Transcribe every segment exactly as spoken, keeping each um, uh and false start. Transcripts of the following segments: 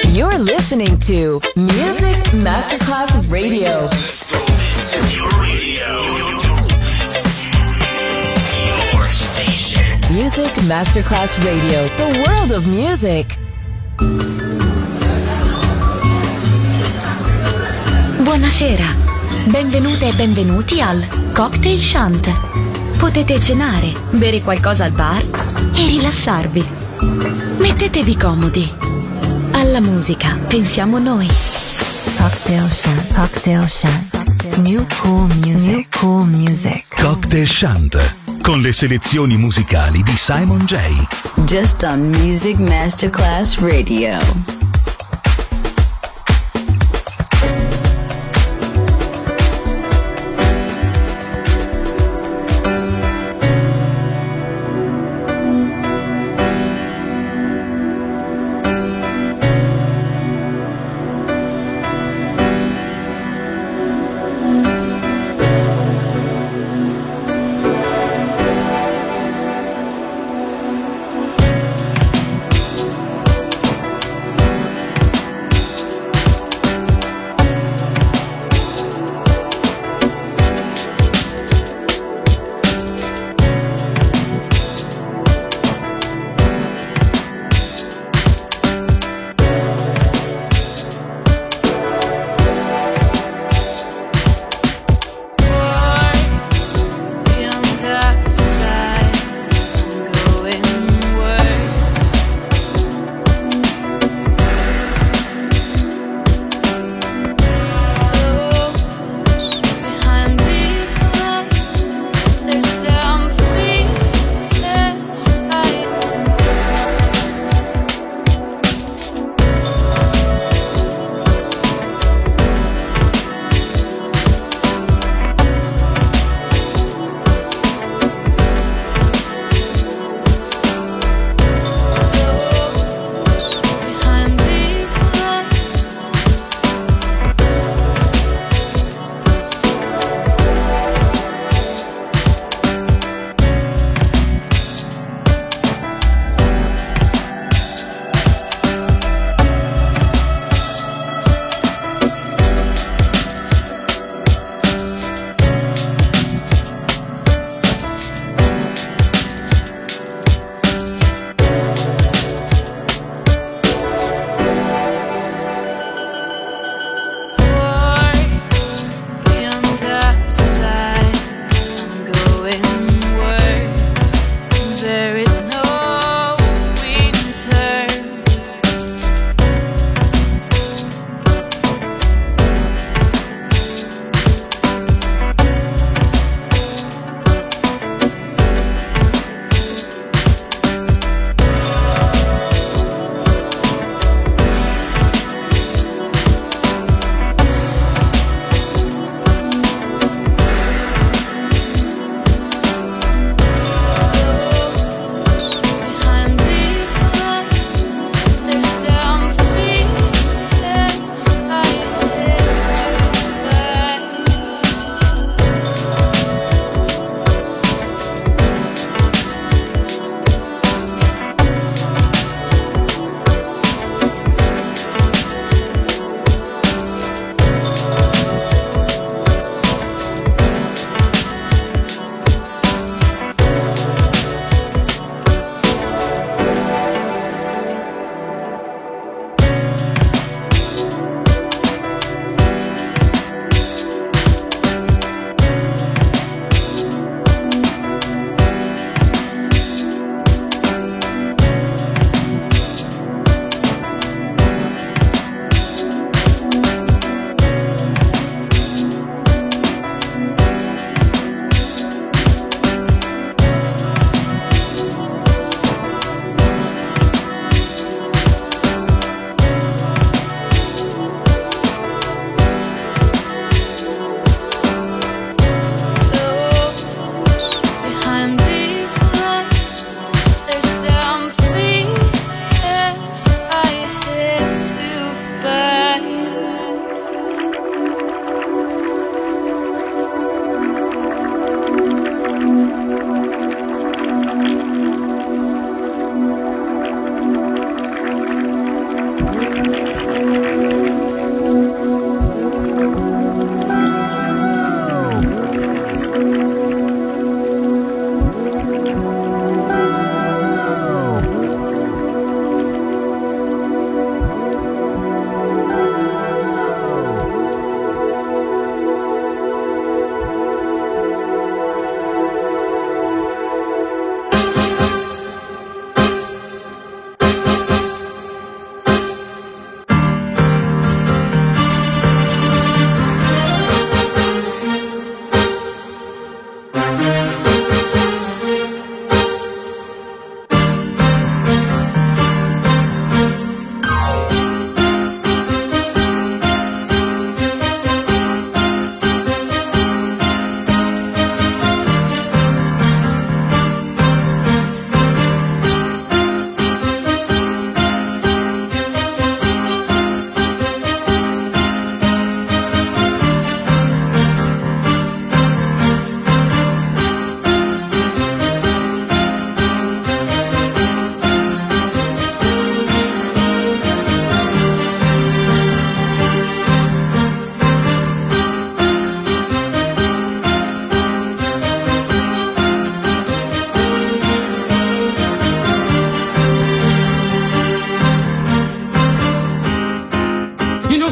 You're listening to Music Masterclass Radio. Music Masterclass Radio, the world of music. Buonasera, benvenute e benvenuti al Cocktail Shant. Potete cenare, bere qualcosa al bar e rilassarvi. Mettetevi comodi. Alla musica pensiamo noi. Cocktail Shant, Cocktail Shant. New cool music, New cool music. Cocktail Shant, con le selezioni musicali di Simon J. Just on Music Masterclass Radio.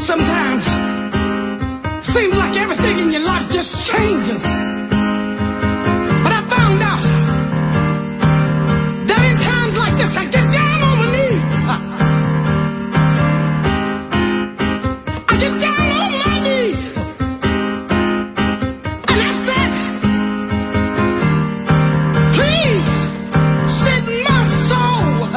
sometimes seems like everything in your life just changes. But I found out that in times like this I get down on my knees. I get down on my knees. And I said, please set my soul.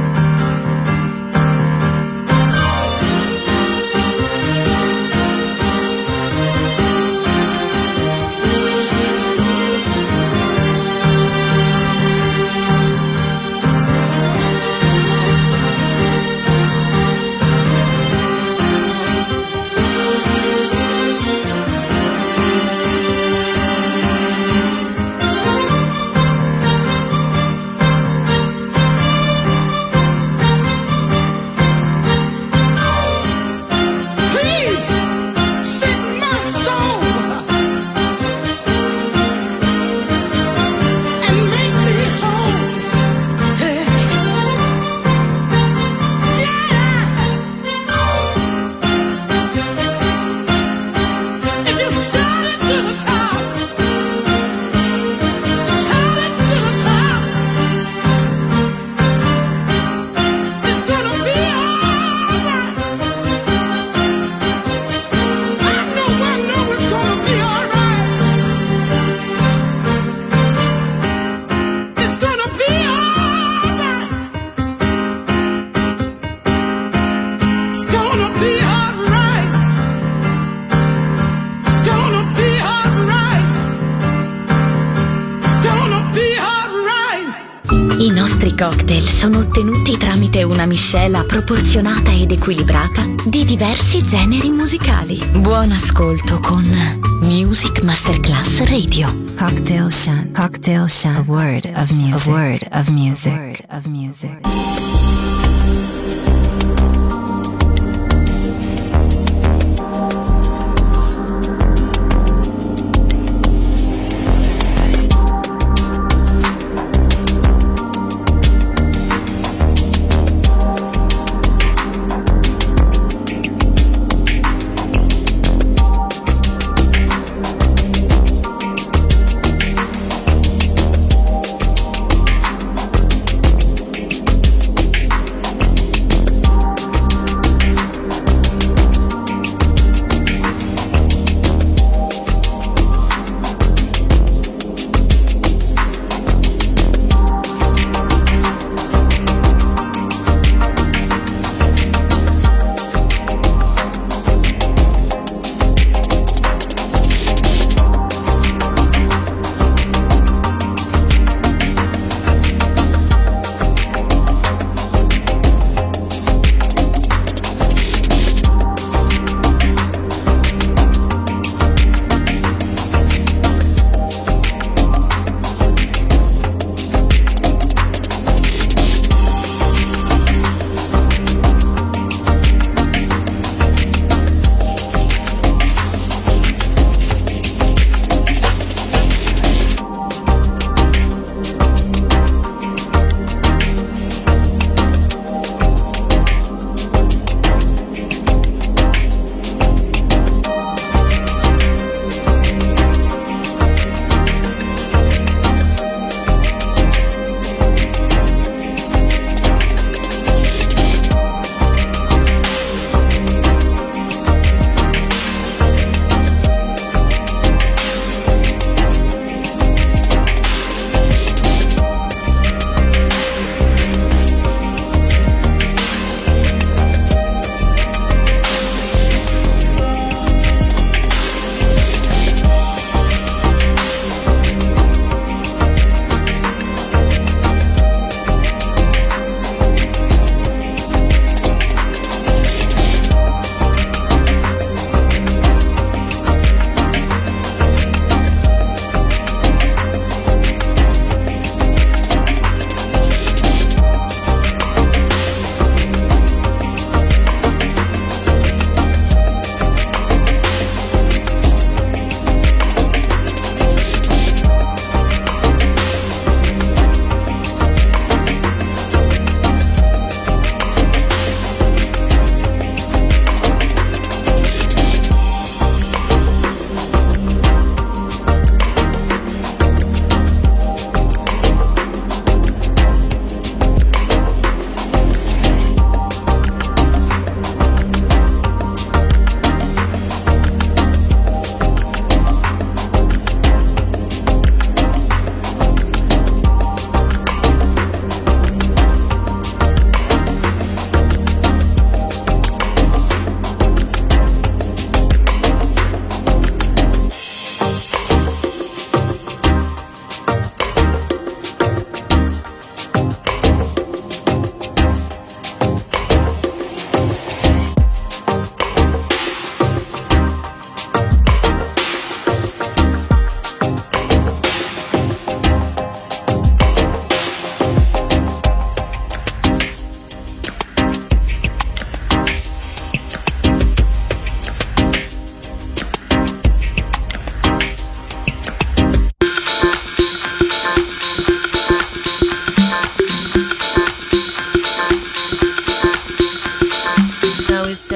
I nostri cocktail sono ottenuti tramite una miscela proporzionata ed equilibrata di diversi generi musicali. Buon ascolto con Music Masterclass Radio. Cocktail Shant. Cocktail Shant. A word of music. A word of music. A word of music.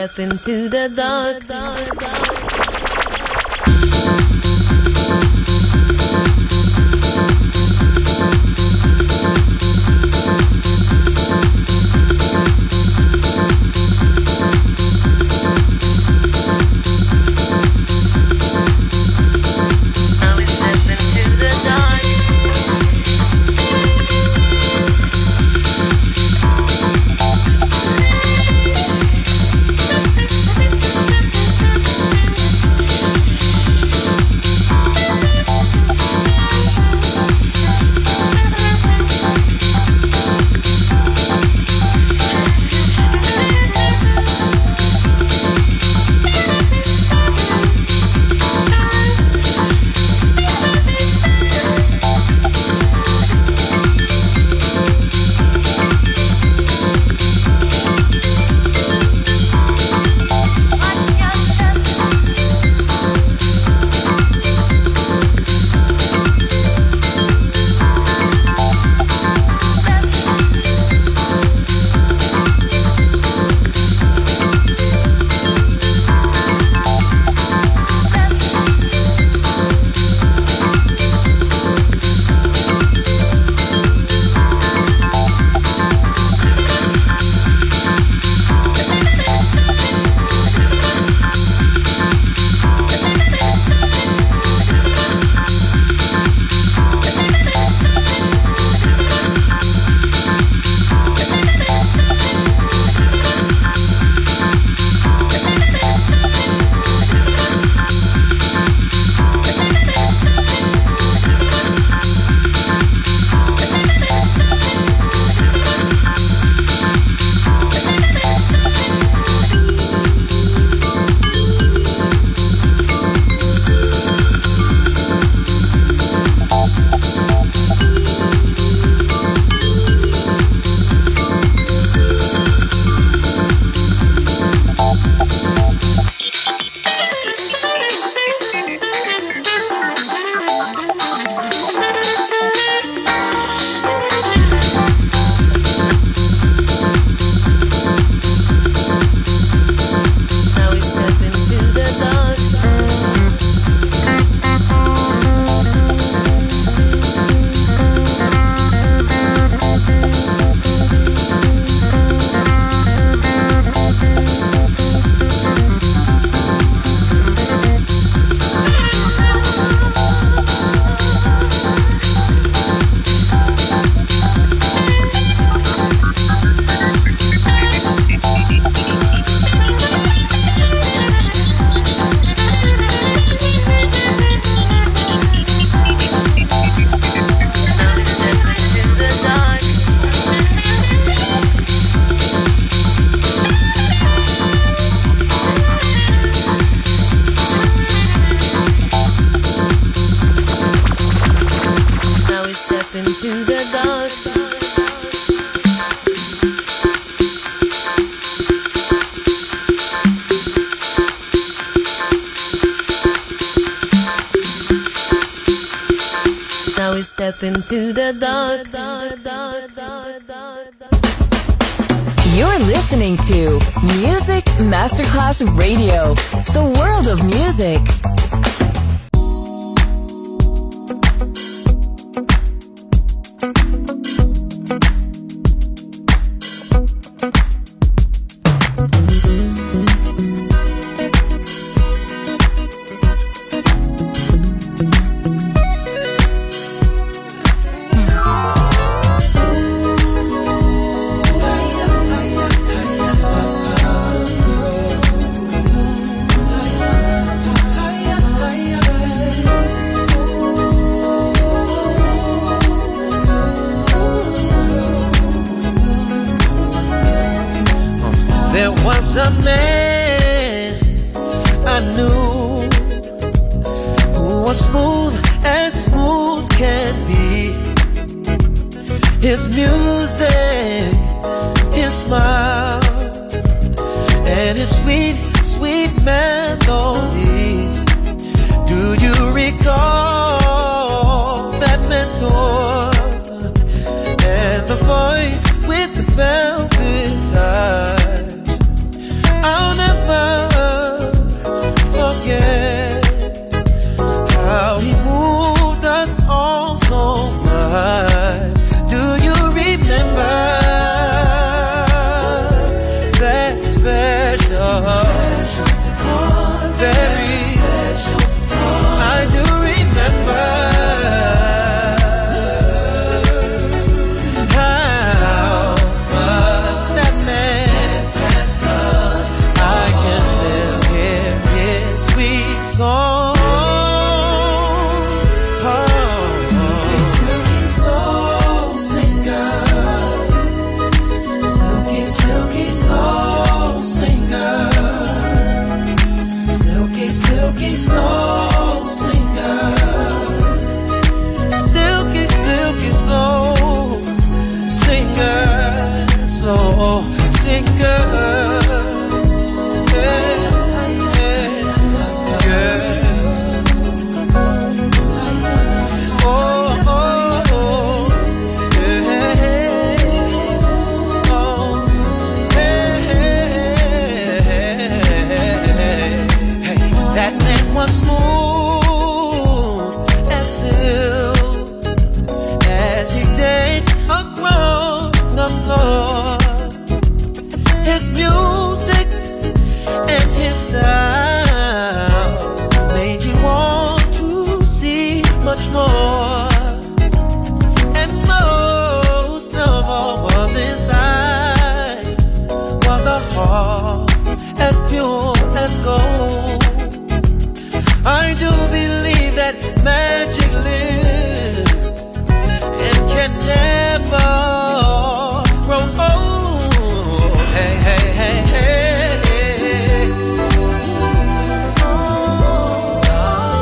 step into the dark, dark, dark. step into the dark, dark, dark, dark, dark, dark. You're listening to Music Masterclass Radio, the world of music. A man I knew who was smooth as smooth can be. His music, his smile, and his sweet, sweet melodies. Do you recall that mentor and the voice with the velvet touch? I'll never very special one. I do remember how much that man has done. I can still hear his sweet song. Silky soul singer, silky, silky soul singer, soul singer, yeah, yeah, yeah. Oh, oh, oh, yeah, oh, hey, hey, that man was smooth as silk as he danced across the floor. His music and his style made you want to see much more. And most of all was inside was a heart as pure as gold. I do believe that magic lives and can never grow old. Hey, hey, hey, hey, hey. Oh, oh,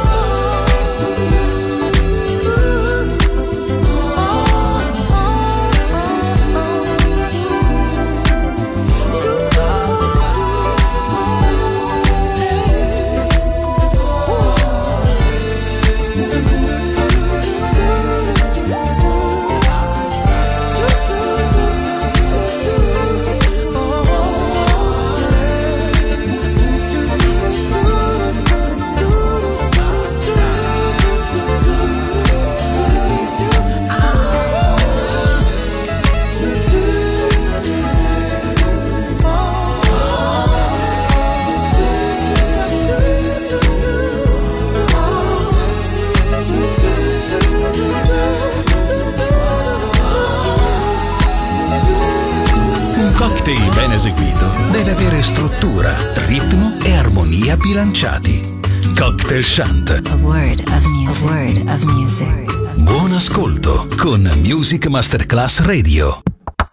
cocktail ben eseguito deve avere struttura, ritmo e armonia bilanciati. Cocktail Shant. A word of music. A word of music. Buon ascolto con Music Masterclass Radio.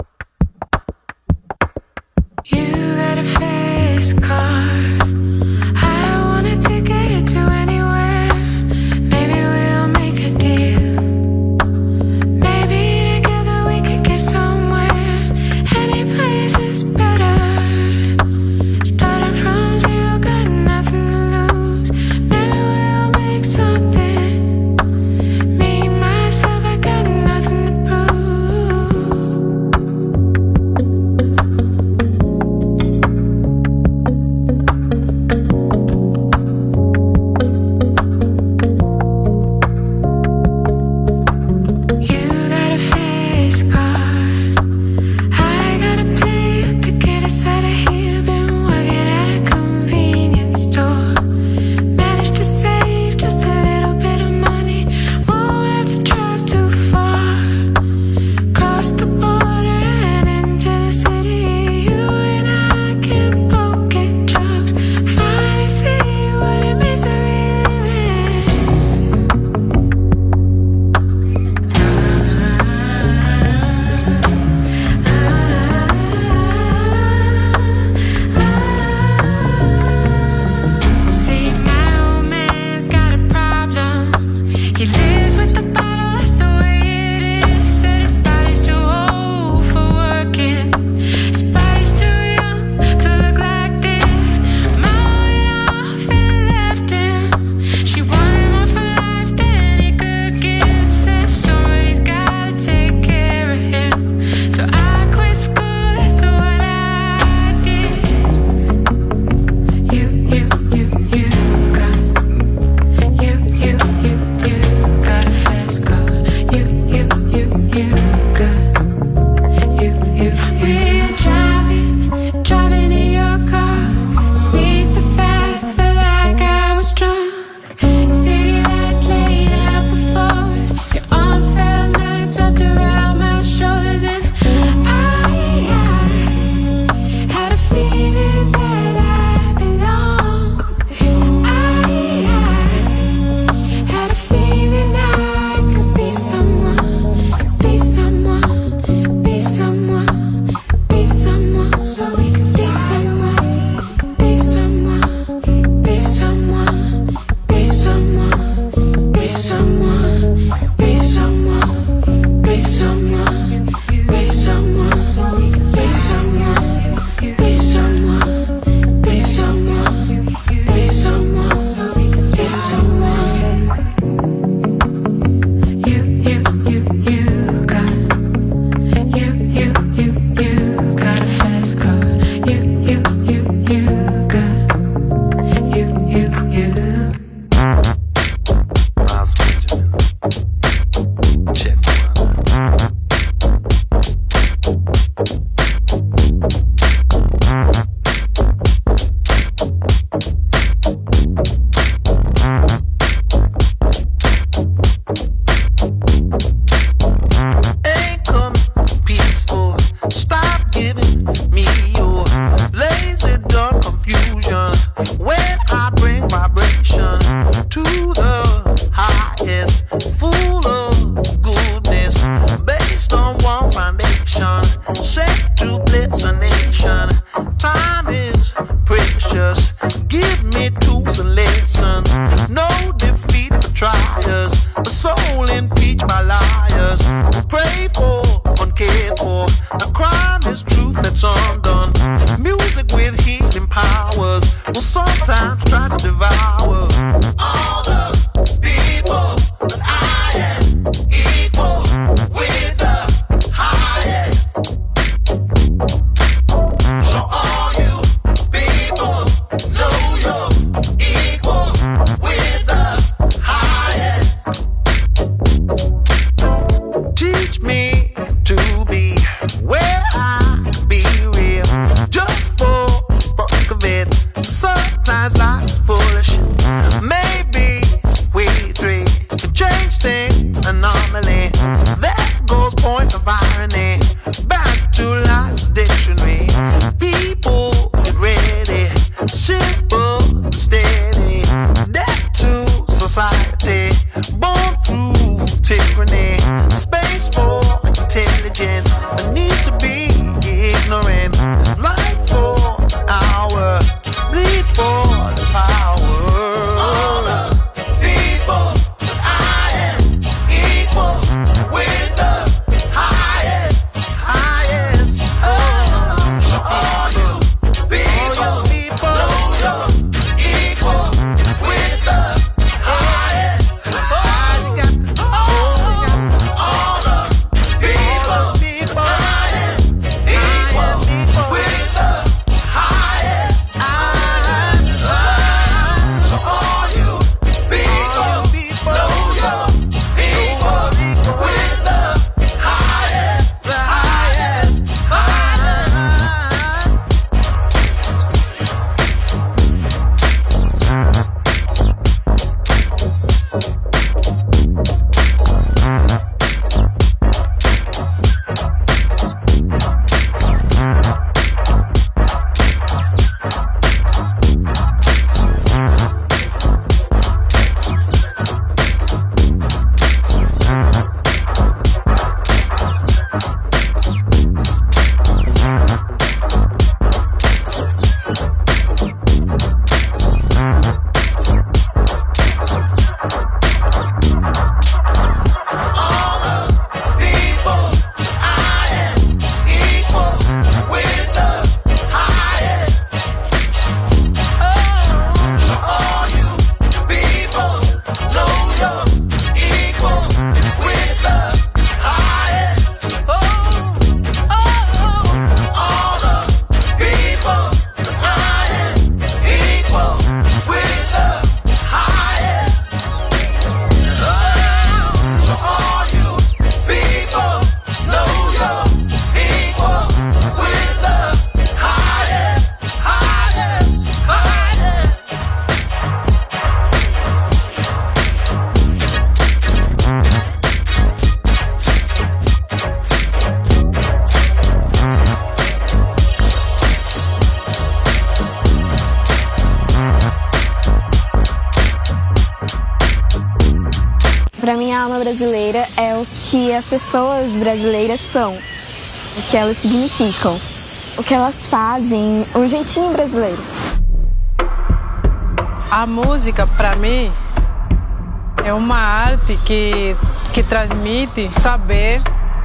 You got a face car. I wanna take you to anywhere. Maybe we'll make a deal. Maybe together we could get somewhere. Any place is better. Starting from zero, got nothing to lose. Maybe we'll make something. Me, myself, I got nothing to prove. Give me tools and lessons. No defeat for triers. A soul impeached by liars. Pray for, uncared for. A crime is truth that's undone. Music with healing powers will sometimes try to devour all the people that I am equal with the highest. So all you people know you're equal with the highest. Teach me to be where I be real, just for fuck of it. Sometimes life's foolish. Maybe we three can change things. Anomaly. That goes point of irony. Back to life's dictionary. People get ready. Simple and steady. Debt to society. Born through tyranny. Space for intelligence. A need to be ignorant. Life for the hour. Bleed for the power. All the people that I am equal with the highest, highest. Oh, so all you people know you're equal with the highest. Oh, all the people that I am equal with the highest. So all you people know you're equal with the highest, the highest, Para mim, a alma brasileira é o que as pessoas brasileiras são, o que elas significam, o que elas fazem, um jeitinho brasileiro. A música, para mim, é uma arte que, que transmite saber.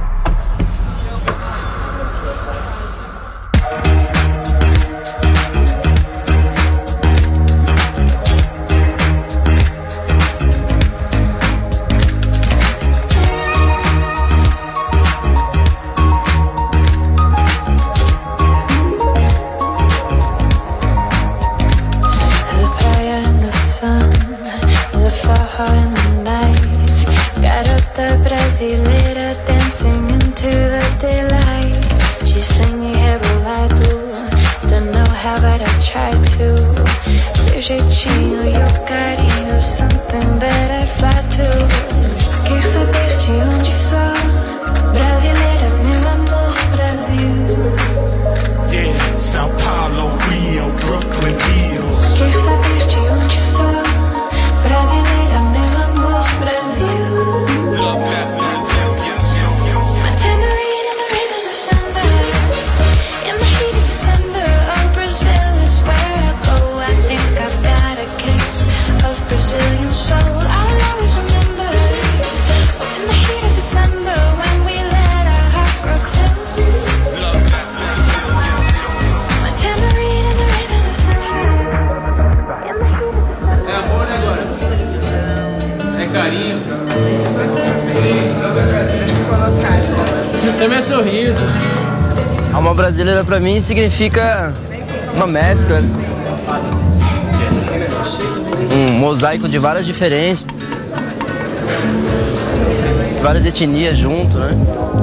Brasileira dancing into the daylight. She's swinging rebolado. Don't know how, but I try to. Seu jeitinho e o carinho, something that I fly to. Quer saber de onde sou? Brasileira, meu amor, Brasil. Yeah, São Paulo, Rio, Brooklyn, Hills. Quer saber de onde sou? Brasileira, meu amor, Brasil. Love that Brazilian soul. My tambourine in the rhythm of samba. In the heat of December, oh, Brazil is where I go. I think sorriso. Alma brasileira pra mim significa uma mescla, um mosaico de várias diferenças, várias etnias junto, né?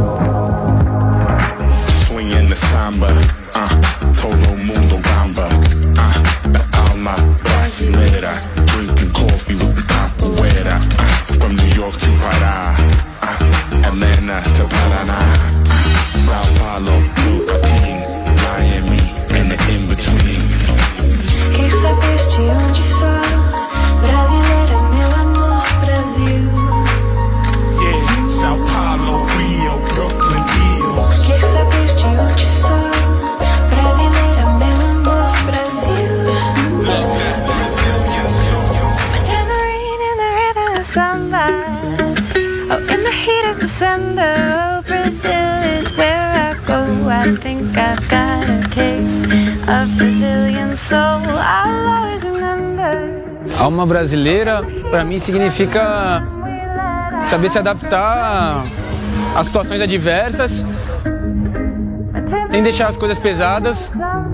Swinging the samba, uh, todo mundo gamba, uh, the alma brasileira, drinking coffee with the capoeira, uh, from New York to Pará, uh, Atlanta to Paraná, uh, Sao Paulo to Peking, Miami, and the in-between. Quer saber de onde sou? Brasileira, meu amor, Brasil. Yeah, Sao Paulo, Rio, Brooklyn, Hills. Quer saber de onde sou? Brasileira, meu amor, Brasil. Love that Brazilian soul. My tambourine in the rhythm of samba. Oh, in the heat of December, oh, Brazil is where I go. I think I've got a case of Brazilian soul. I'll always remember. Alma brasileira, pra mim, significa saber se adaptar a situações adversas, sem deixar as coisas pesadas,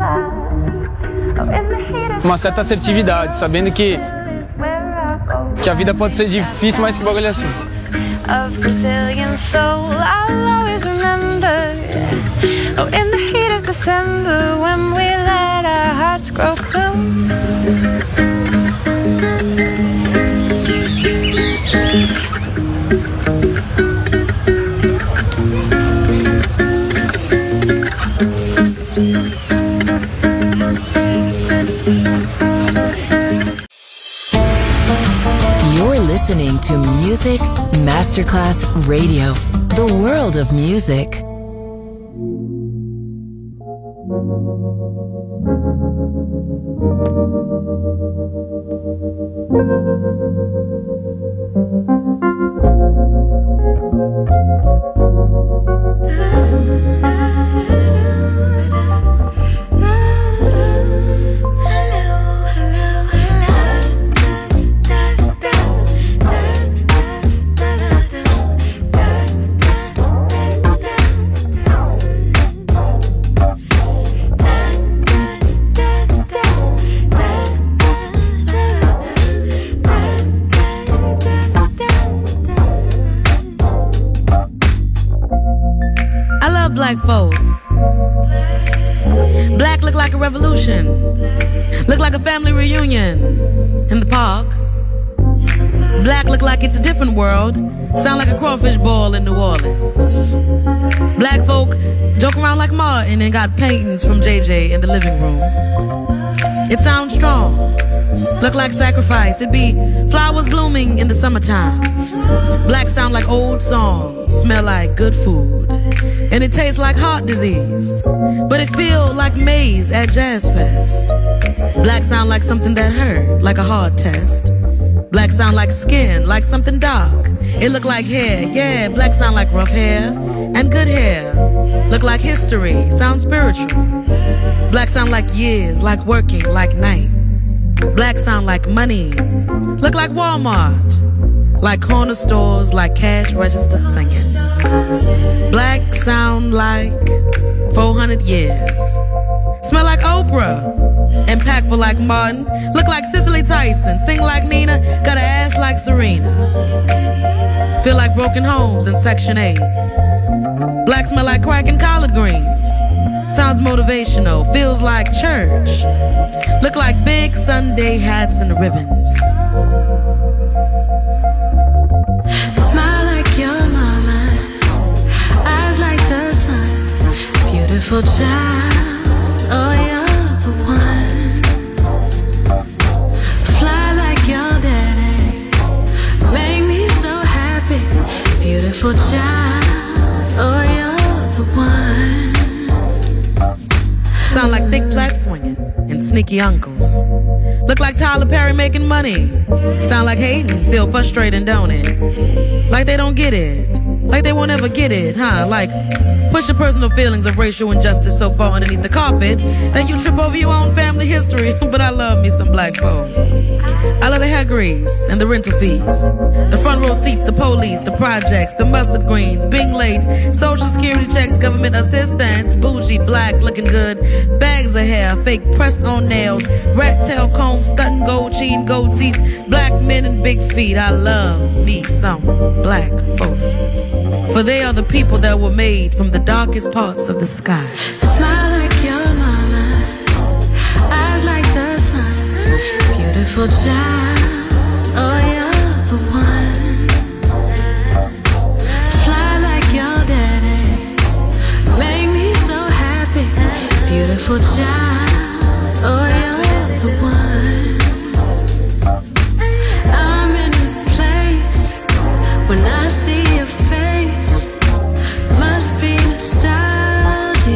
uma certa assertividade, sabendo que, que a vida pode ser difícil, mas que bagulho é assim. Of Brazilian soul, I'll always remember. Oh, in the heat of December, when we let our hearts grow close. You're listening to Music Masterclass Radio, the world of music. Black folk. Black look like a revolution. Look like a family reunion in the park. Black look like it's a different world. Sound like a crawfish ball in New Orleans. Black folk joke around like Martin and got paintings from J J in the living room. It sounds strong. Look like sacrifice. It be flowers blooming in the summertime. Black sound like old songs. Smell like good food. And it tastes like heart disease, but it feel like maize at Jazz Fest. Black sound like something that hurt, like a hard test. Black sound like skin, like something dark. It look like hair, yeah, black sound like rough hair and good hair. Look like history, sound spiritual. Black sound like years, like working, like night. Black sound like money, look like Walmart. Like corner stores, like cash register singing. Black sound like four hundred years. Smell like Oprah. Impactful like Martin. Look like Cicely Tyson. Sing like Nina. Got an ass like Serena. Feel like broken homes in Section eight. Black smell like crack and collard greens. Sounds motivational. Feels like church. Look like big Sunday hats and ribbons. Beautiful child, oh you're the one. Fly like your daddy, make me so happy. Beautiful child, oh you're the one. Sound like thick plaid swinging and sneaky uncles. Look like Tyler Perry making money. Sound like hating, feel frustrating, don't it? Like they don't get it. Like they won't ever get it, huh? Like, push your personal feelings of racial injustice so far underneath the carpet that you trip over your own family history. But I love me some black folk. I love the hair grease and the rental fees, the front row seats, the police, the projects, the mustard greens, being late, social security checks, government assistance, bougie, black, looking good, bags of hair, fake press on nails, rat tail comb, stunting gold chain, gold teeth, black men and big feet. I love me some black folk, for they are the people that were made from the darkest parts of the sky. Smile like your mama, eyes like the sun, beautiful child, oh you're the one. Fly like your daddy, make me so happy, beautiful child, oh you're the one. I'm in a place when I see your face, must be nostalgia.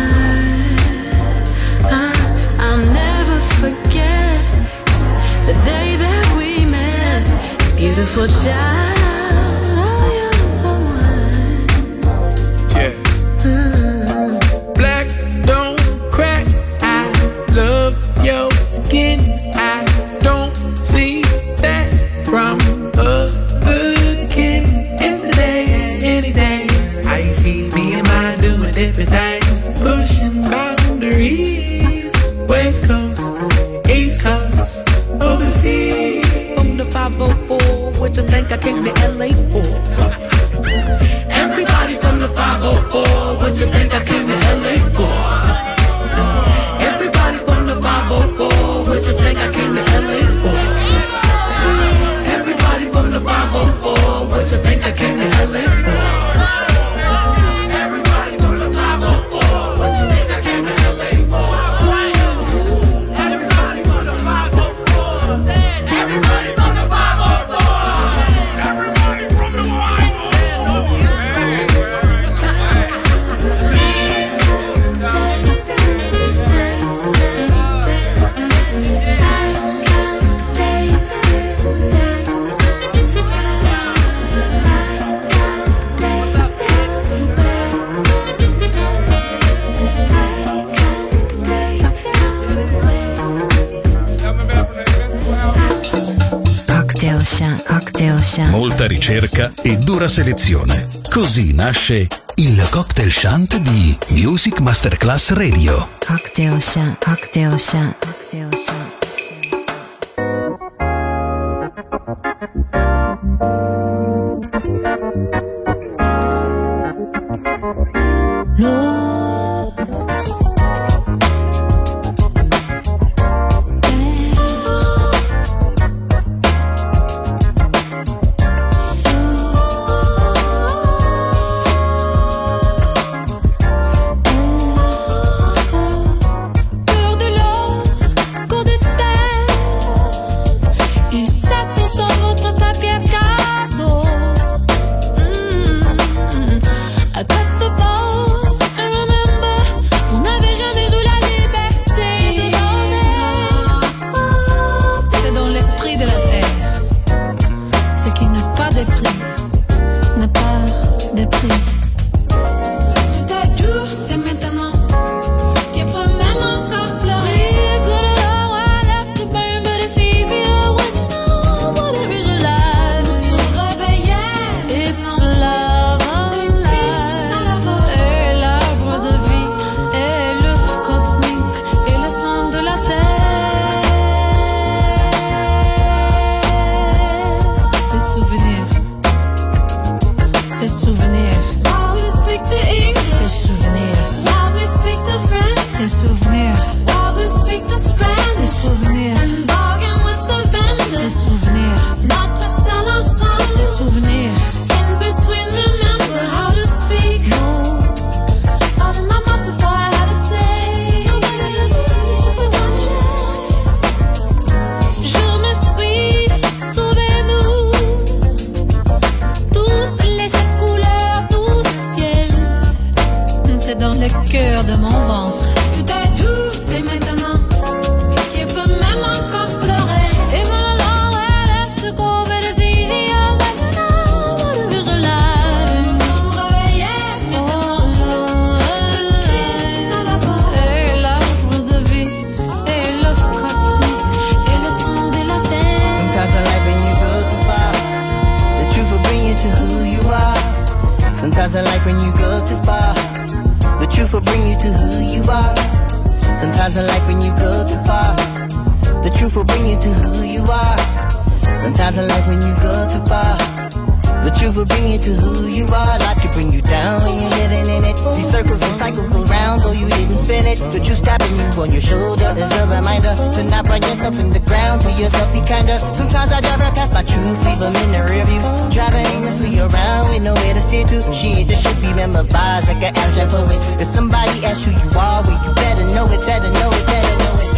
uh, I'll never forget the day that we met, beautiful child, oh you're the one. Yeah. Mm. Black don't crack, I love your skin, I don't see that from other kin. Yesterday and any day, I see me and mine doing different things, pushing boundaries, West Coast, East Coast, overseas. From the five oh four, what you think I came to L A for? Everybody from the five oh four, what you think I came to L A for? Everybody from the five oh four, what you think I came to L A for? Everybody from the five oh four, what you think I came to L A for? Everybody from the five oh four, what you think I came to L A for? Everybody from the five oh four, everybody from the five oh four, everybody from the five oh four. Cocktail Chant, Cocktail Chant. Molta ricerca e dura selezione. Così nasce il Cocktail Chant di Music Masterclass Radio. Cocktail Chant, Cocktail Chant, Cocktail Chant. Peur de l'or, cours de Sometimes in life when you go too far, the truth will bring you to who you are. Sometimes in life when you go too far, the truth will bring you to who you are. Sometimes in life when you go too far, the truth will bring you to who you are. Life could bring you down when you're living in it. These circles and cycles go round though you didn't spin it. The truth tapping you on your shoulder is a reminder to not run yourself in the ground, to yourself be kinder. Sometimes I drive right past my truth, leave them in the rear view, driving aimlessly around with nowhere to steer to. Shit, this should be memorized like an abstract poet. If somebody asks who you are, well you better know it, better know it, better know it.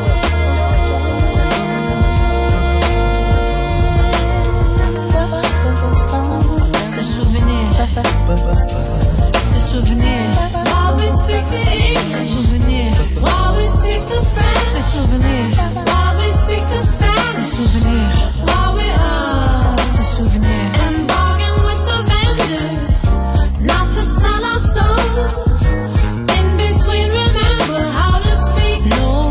Ces souvenirs. While we speak the English. Ces souvenirs. While we speak the French. Ces souvenirs. While we speak the Spanish. Ces souvenirs. While we are. Ces souvenirs. And bargain with the vendors, not to sell our souls. In between, remember how to speak. No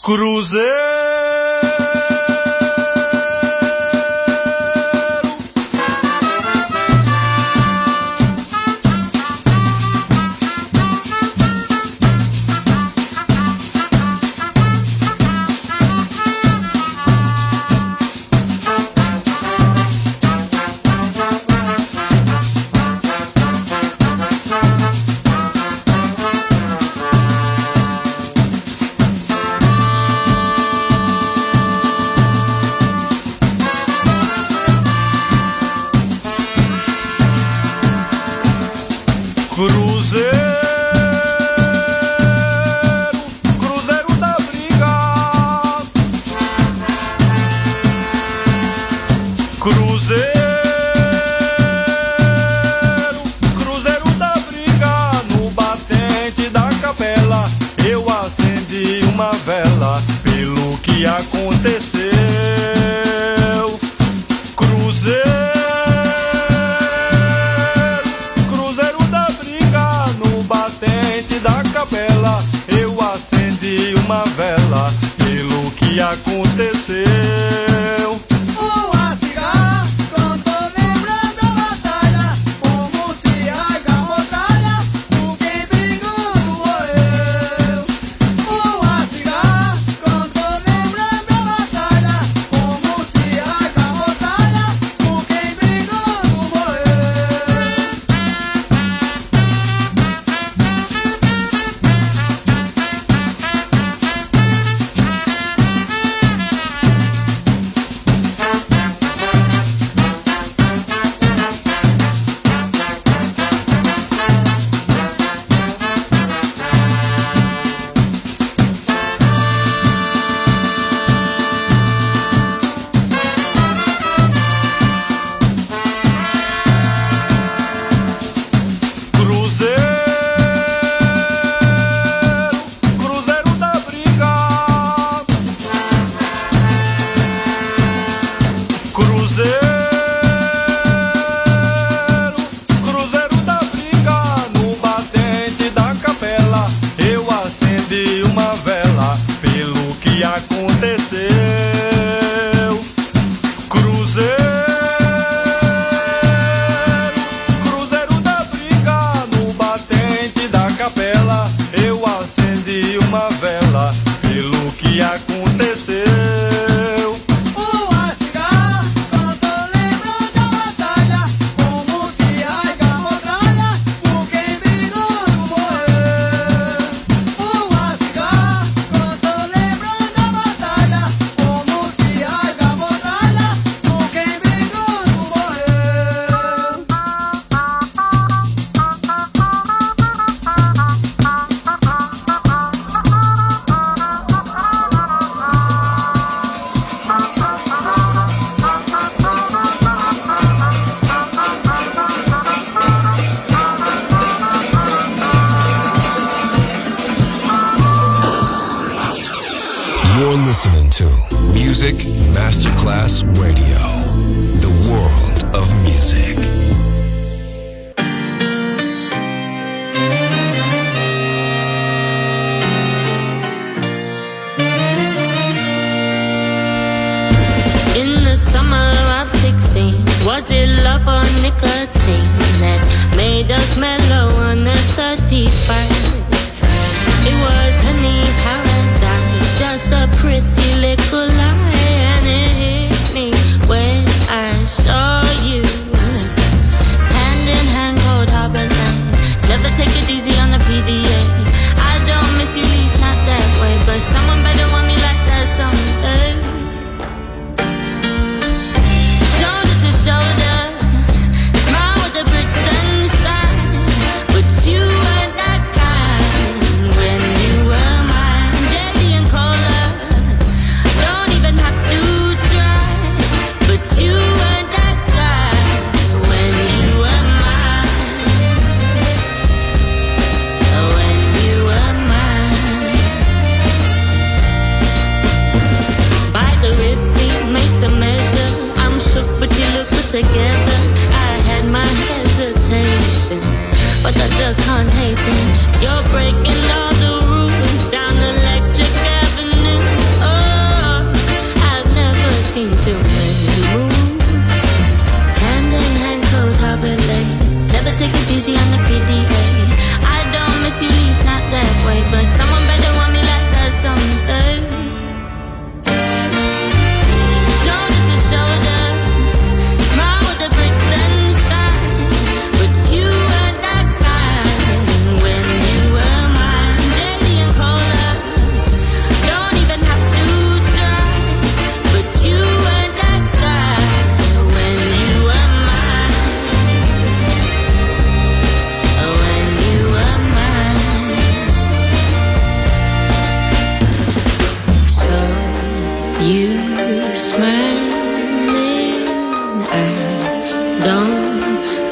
Cruzeiro. You're listening to Music Masterclass Radio, the world of music. In the summer of sixteen, was it love or nicotine that made us mellow on the thirty-first? It was penny paradise, just a pretty little lie, and it hit me when I saw you hand in hand, cold harbor night. Never take it easy on the P D A. I don't miss you, least not that way, but someone better want me like that someday. Shoulder to shoulder, smile with the Brixton shine, but you weren't that kind when you were mine. J D and Cola, don't even have to try, but you weren't that guy when you were mine. When you were mine. By the Red Sea, made to measure. I'm shook, but you look put together. I had my hesitation, but I just can't hate them. You're breaking all the rules down Electric Avenue.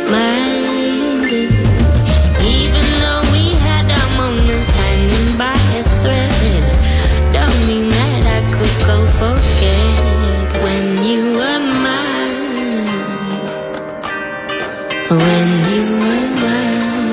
minded. Even though we had our moments hanging by a thread, don't mean that I could go forget when you were mine. When you were mine.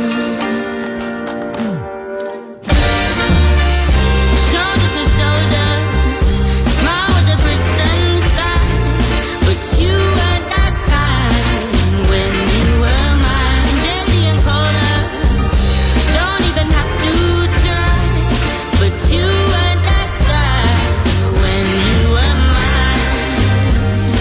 Shoulder to shoulder, smile with the bricks inside, but you were that kind when you were mine. Dirty and colder, don't even have to try, but you were that guy when you were mine.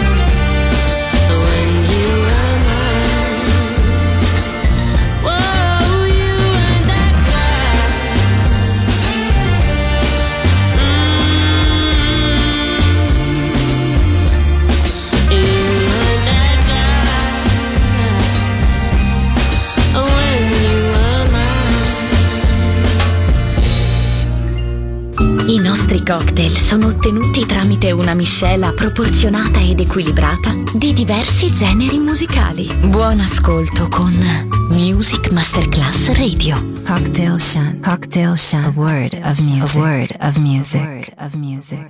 When you were mine. Whoa, you were that guy. You were that guy when you were mine. I nostri cocktail sono ottenuti tramite una miscela proporzionata ed equilibrata di diversi generi musicali. Buon ascolto con Music Masterclass Radio. Cocktail Shant. Cocktail Shant. A word of music. A word of music. A word of music.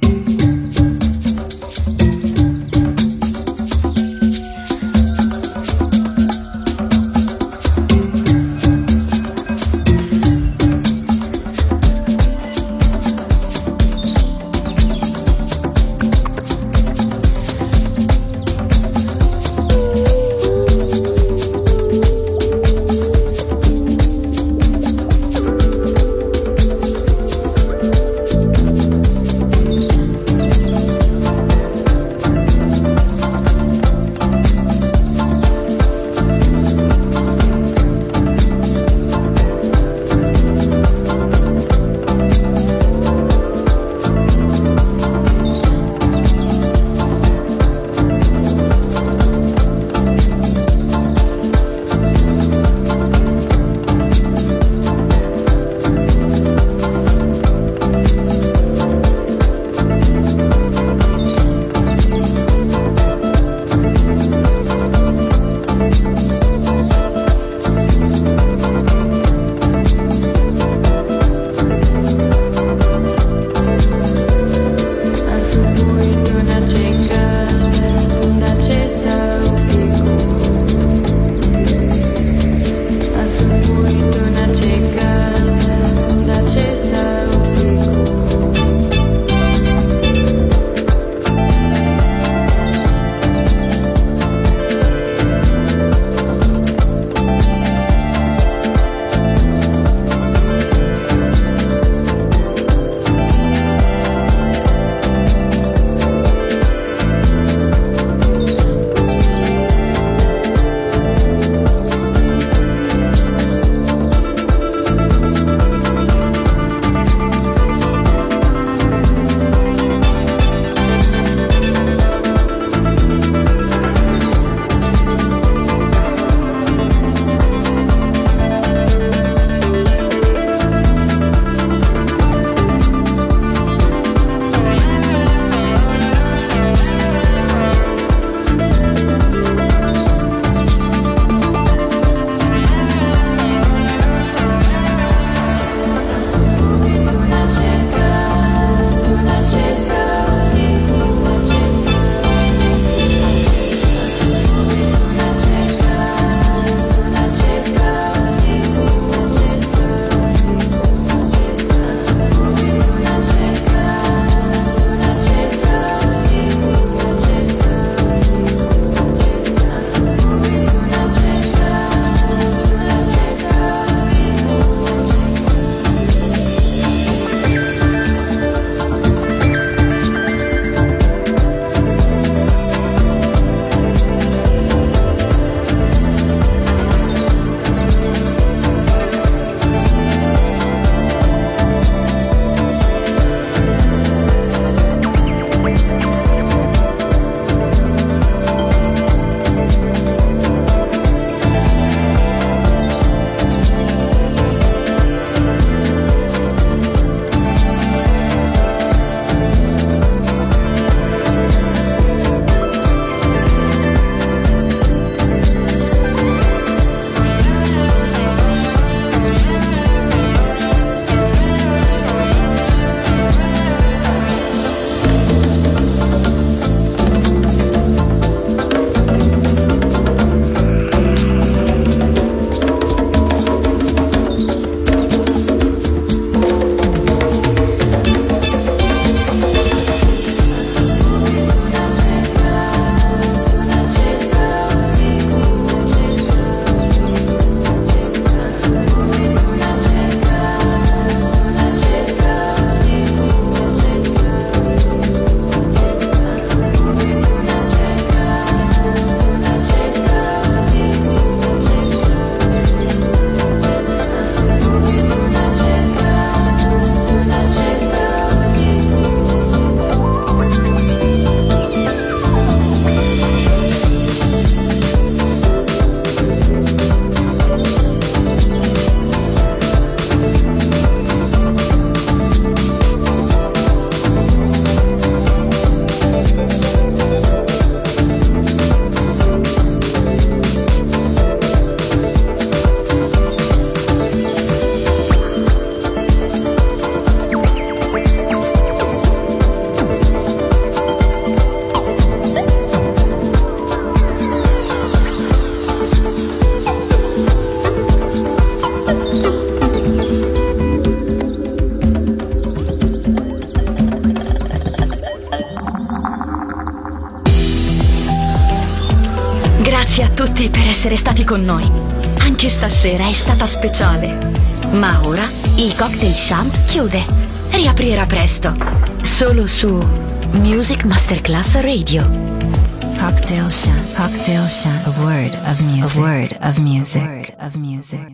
tutti per essere stati con noi. Anche stasera è stata speciale. Ma ora il Cocktail Shant chiude. Riaprirà presto. Solo su Music Masterclass Radio. Cocktail Shant. Cocktail Shant. A word of music. A word of music. A word of music.